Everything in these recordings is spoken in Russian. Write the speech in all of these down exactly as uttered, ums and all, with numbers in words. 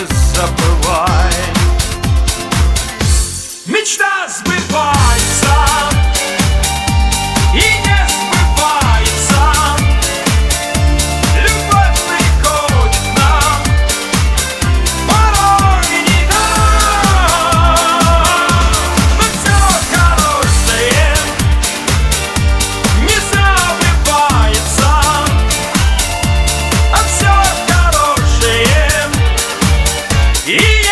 забывай. Мечта сбывается и не сбывается. Любовь приходит к нам порой не так. Но все хорошее не забывается, а все хорошее и есть.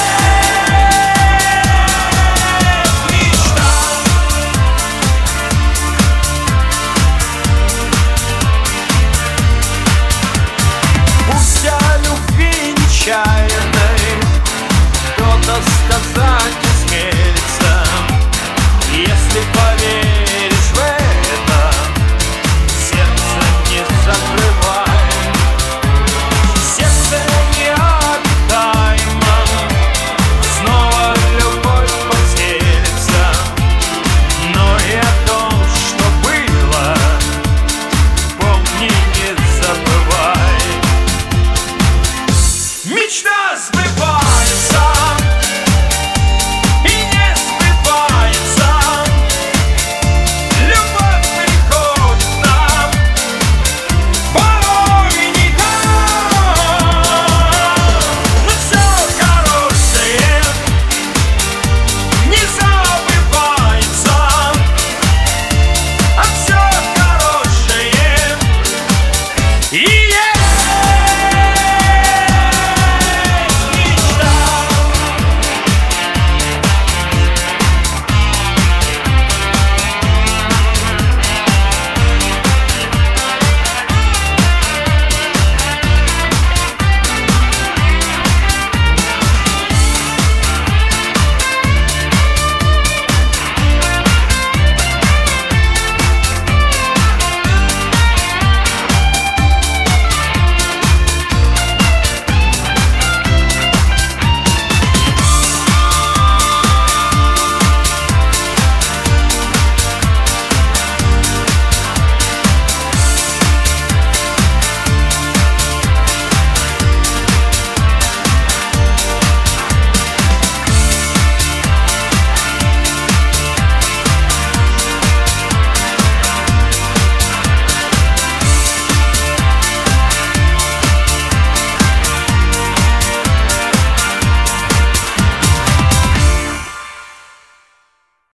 Кто-то сказать осмелится, если поверишь в это, сердце не закрывай. Сердце необитаемо, снова любовь поселится, но и о том, что было, помни, не забывай. Мечта сбывается